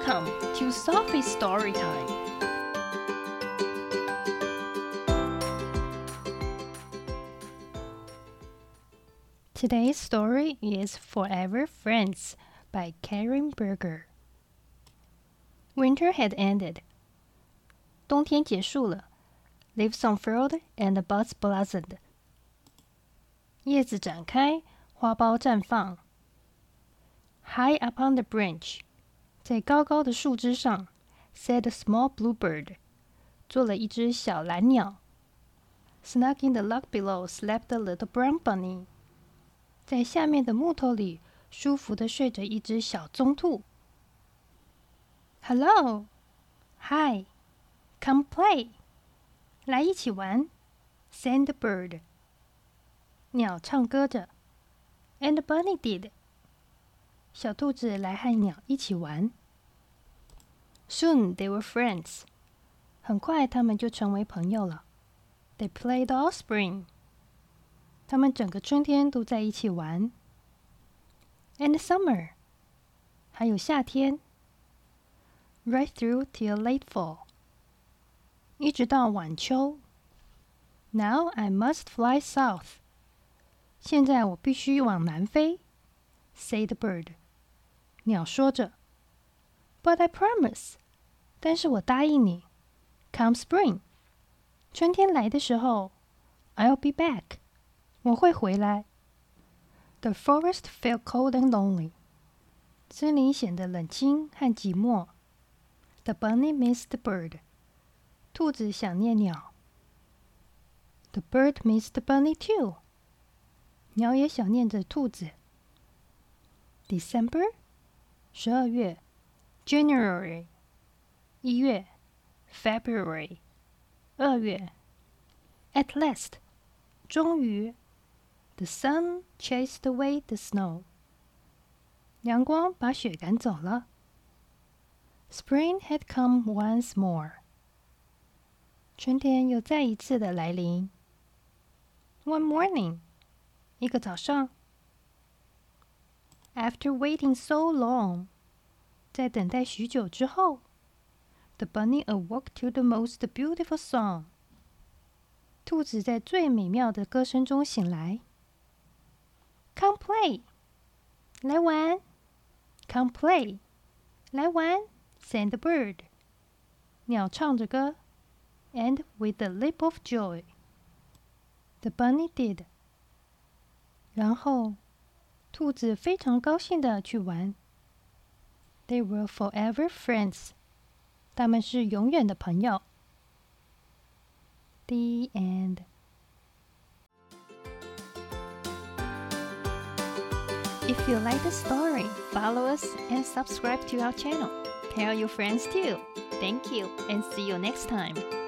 Welcome to Sophie's Story Time. Today's story is Forever Friends by Karen Berger. Winter had ended. 冬天结束了 Leaves unfurled and buds blossomed. 叶子展开，花苞绽放。High upon the branch, 在高高的树枝上 sat a small bluebird, 坐了一只小蓝鸟。Snug in the log below slept a little brown bunny. 在下面的木头里，舒服地睡着一只小棕兔。Hello, Hi, come play. 来一起玩 sang the bird. 鸟唱歌着 And the bunny did. 小兔子来和鸟一起玩。Soon they were friends. 很快他们就成为朋友了。They played all spring. 他们整个春天都在一起玩。And summer. 还有夏天。Right through till late fall. 一直到晚秋。Now I must fly south. 现在我必须往南飞 said the bird. 鸟说着 But I promise. 但是我答应你 Come spring. 春天来的时候 I'll be back. 我会回来 The forest felt cold and lonely. 森林显得冷清和寂寞 The bunny missed the bird. 兔子想念鸟 The bird missed the bunny too. 鸟也想念着兔子 December 12月 January 1月 February 2月 At last 终于 The sun chased away the snow. 阳光把雪赶走了 Spring had come once more. 春天又再一次的来临 One morning 一个早上 After waiting so long 在等待许久之后 The bunny awoke to the most beautiful song. 兔子在最美妙的歌声中醒来 Come play 来玩 Come play 来玩 sang the bird. 鸟唱着歌 And with a leap of joy The bunny did. 然后兔子非常高兴地去玩 They were forever friends. 他们是永远的朋友 The end. If you like the story, follow us and subscribe to our channel. Tell your friends too. Thank you and see you next time.